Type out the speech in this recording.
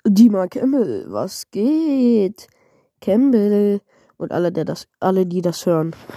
Dima Campbell, was geht? Campbell und alle, die das hören.